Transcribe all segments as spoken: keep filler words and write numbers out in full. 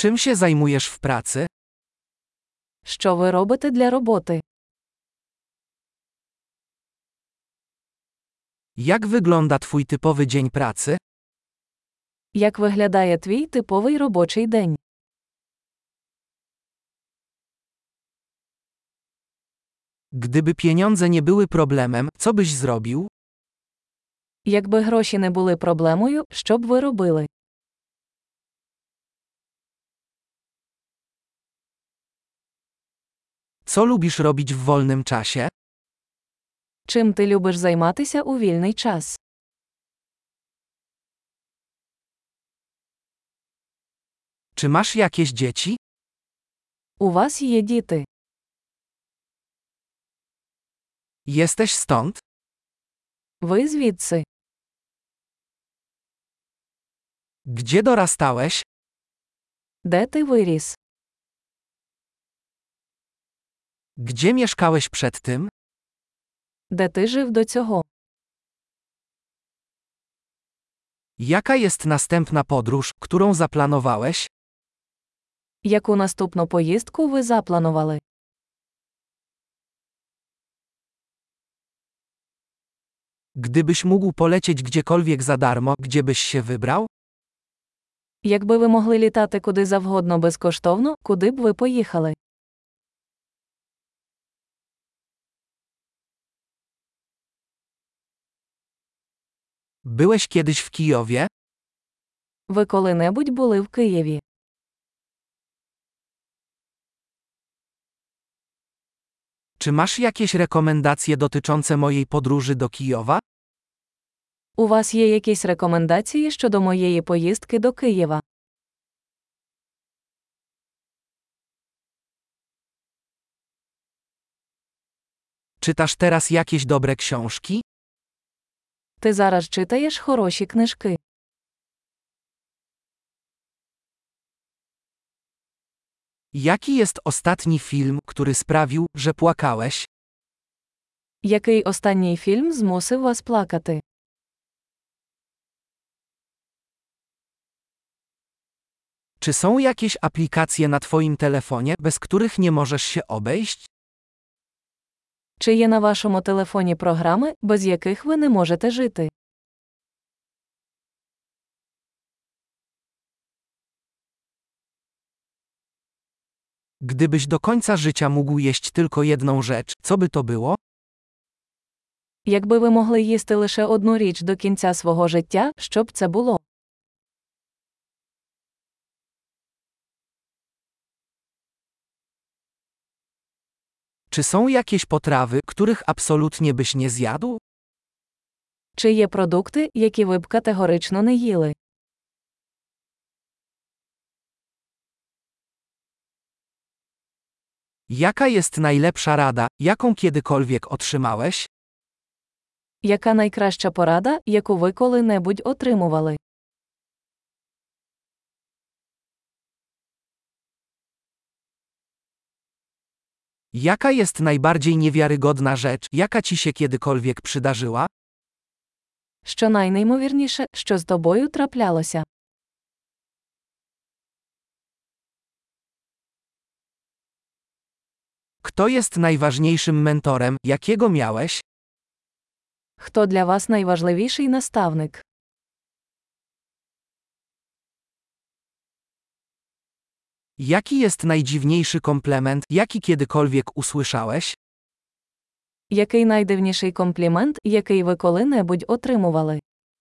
Czym się zajmujesz w pracy? Що ви робите для роботи? Jak wygląda twój typowy dzień pracy? Як виглядає твій типовий робочий день? Gdyby pieniądze nie były problemem, co byś zrobił? Якби гроші не були проблемою, що б ви робили? Co lubisz robić w wolnym czasie? Чим ти любиш займатися у вільний час? Czy masz jakieś dzieci? У вас є діти. Jesteś stąd? Ви звідси. Gdzie dorastałeś? Де ти виріс? Gdzie mieszkałeś przed tym? Де ти жив до цього? Jaka jest następna podróż, którą zaplanowałeś? Яку наступну поїздку ви запланували? Gdybyś mógł polecieć gdziekolwiek za darmo, gdzie byś się wybrał? Якби ви могли літати куди завгодно безкоштовно, куди б ви поїхали? Byłeś kiedyś w Kijowie? Ви коли-небудь були в Києві? Czy masz jakieś rekomendacje dotyczące mojej podróży do Kijowa? У вас є якісь рекомендації щодо моєї поїздки до Києва? Czytasz teraz jakieś dobre książki? Ти зараз читаєш хороші книжки. Jaki jest ostatni film, który sprawił, że płakałeś? Який останній фільм змусив вас плакати? Czy są jakieś aplikacje na twoim telefonie, bez których nie możesz się obejść? Чи є на вашому телефоні програми, без яких ви не можете жити? Gdybyś do końca życia mógł jeść tylko jedną rzecz, co by to było? Якби ви могли їсти лише одну річ до кінця свого життя, що б це було? Czy są jakieś potrawy, których absolutnie byś nie zjadł? Чи є продукти, які ви б категорично не їли? Jaka jest najlepsza rada, jaką kiedykolwiek otrzymałeś? Яка найкраща порада, яку ви коли-небудь отримували? Jaka jest najbardziej niewiarygodna rzecz, jaka ci się kiedykolwiek przydarzyła? Що найнеймовірніше, що з тобою траплялося? Kto jest najważniejszym mentorem, jakiego miałeś? Хто для вас найважливіший наставник? Jaki jest najdziwniejszy komplement, jaki kiedykolwiek usłyszałeś? Який найдивніший комплімент, який ви коли-небудь отримували?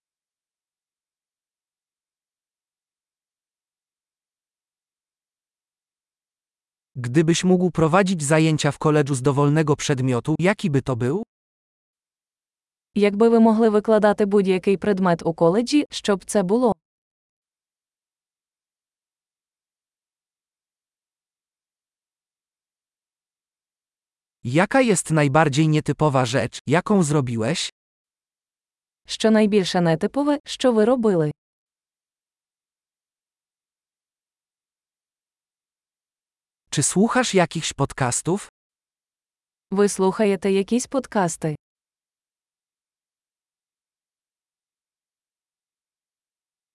Gdybyś mógł prowadzić zajęcia w koledżu z dowolnego przedmiotu, jaki by to był? Якби ви могли викладати будь-який предмет у коледжі, що б це було? Jaka jest najbardziej nietypowa rzecz, jaką zrobiłeś? Що найбільше нетипове, що ви робили? Czy słuchasz jakichś podcastów? Ви слухаєте якісь подкасти?